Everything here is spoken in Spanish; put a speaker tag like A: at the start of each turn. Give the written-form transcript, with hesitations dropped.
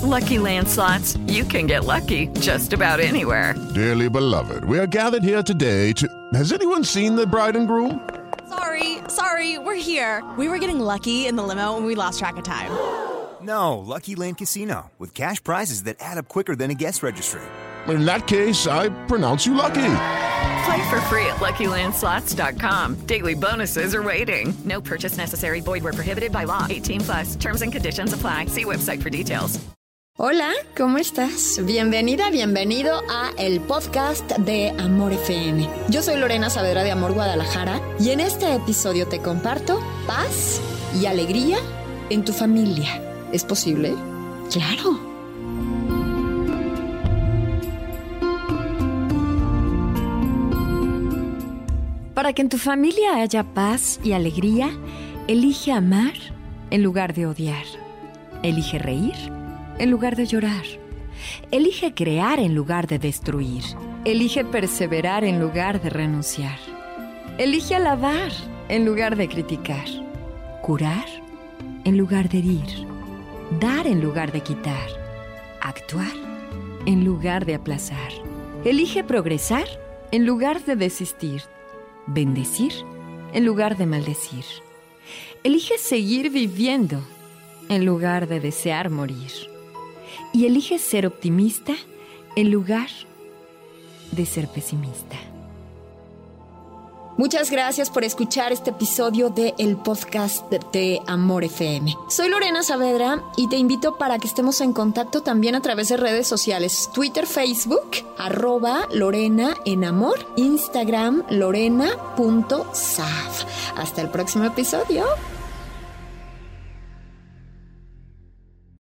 A: Lucky Land Slots, you can get lucky just about anywhere.
B: Dearly beloved, we are gathered here today to... Has anyone seen the bride and groom?
C: Sorry, we're here. We were getting lucky in the limo and we lost track of time.
D: No, Lucky Land Casino, with cash prizes that add up quicker than a guest registry.
B: In that case, I pronounce you lucky.
A: Play for free at LuckyLandSlots.com. Daily bonuses are waiting. No purchase necessary. Void where prohibited by law. 18+. Terms and conditions apply. See website for details.
E: Hola, ¿cómo estás? Bienvenida, bienvenido a el podcast de Amor FM. Yo soy Lorena Saavedra de Amor Guadalajara y en este episodio te comparto paz y alegría en tu familia. ¿Es posible? ¡Claro! Para que en tu familia haya paz y alegría, elige amar en lugar de odiar. Elige reír en lugar de llorar. Elige crear en lugar de destruir. Elige perseverar en lugar de renunciar. Elige alabar en lugar de criticar. Curar en lugar de herir. Dar en lugar de quitar. Actuar en lugar de aplazar. Elige progresar en lugar de desistir. Bendecir en lugar de maldecir. Elige seguir viviendo en lugar de desear morir. Y elige ser optimista en lugar de ser pesimista. Muchas gracias por escuchar este episodio de el podcast de Amor FM. Soy Lorena Saavedra y te invito para que estemos en contacto también a través de redes sociales. Twitter, Facebook, @Lorena en Amor, Instagram, lorena.sav. Hasta el próximo episodio.